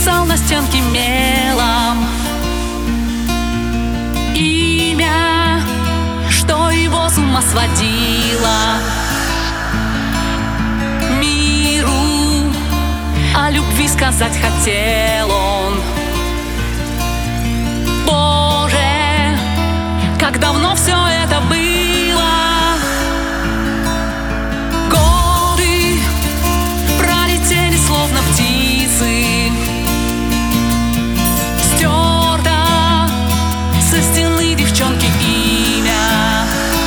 писал на стенке мелом имя, что его с ума сводило. Миру о любви сказать хотел он. Боже, как давно все это было. Годы пролетели словно птицы. Стерто со стены девчонки имя.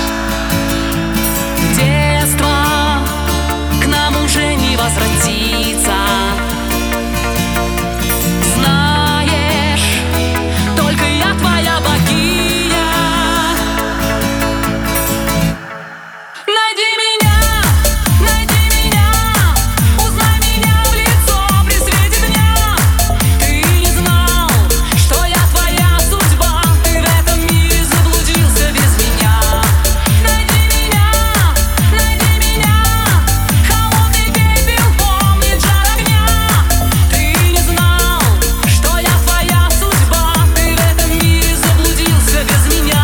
Детство к нам уже не возвратится. Знаешь, только я твоя богиня. Найди меня, узнай меня в лицо при свете дня. Ты не знал, что я твоя судьба. Ты в этом мире заблудился без меня. Найди меня, холодный пепел помнит жар огня. Ты не знал, что я твоя судьба. Ты в этом мире заблудился без меня.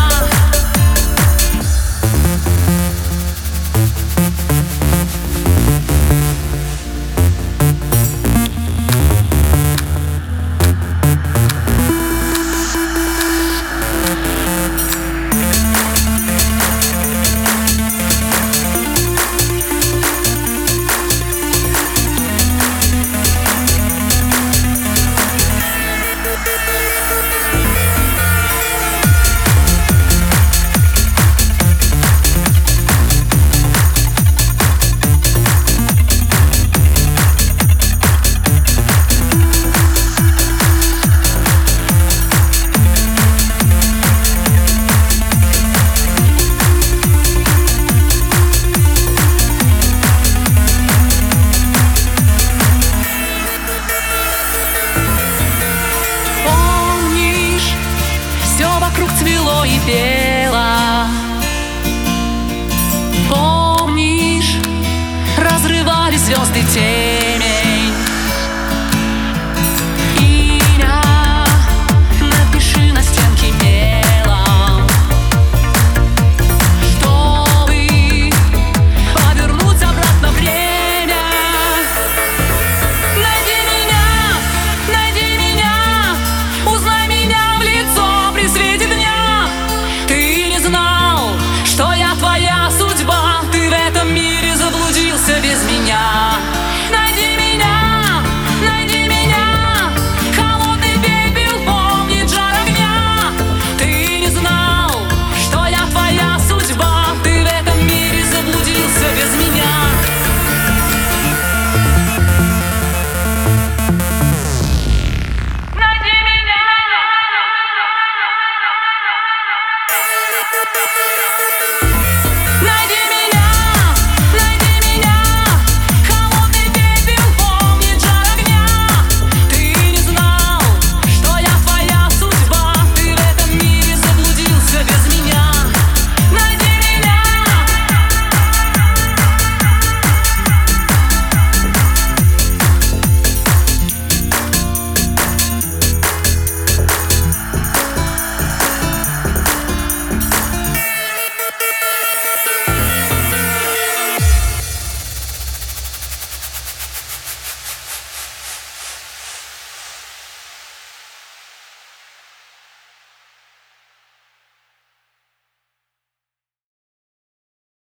Помнишь, все вокруг цвело и пело. Помнишь, разрывали звезды тень.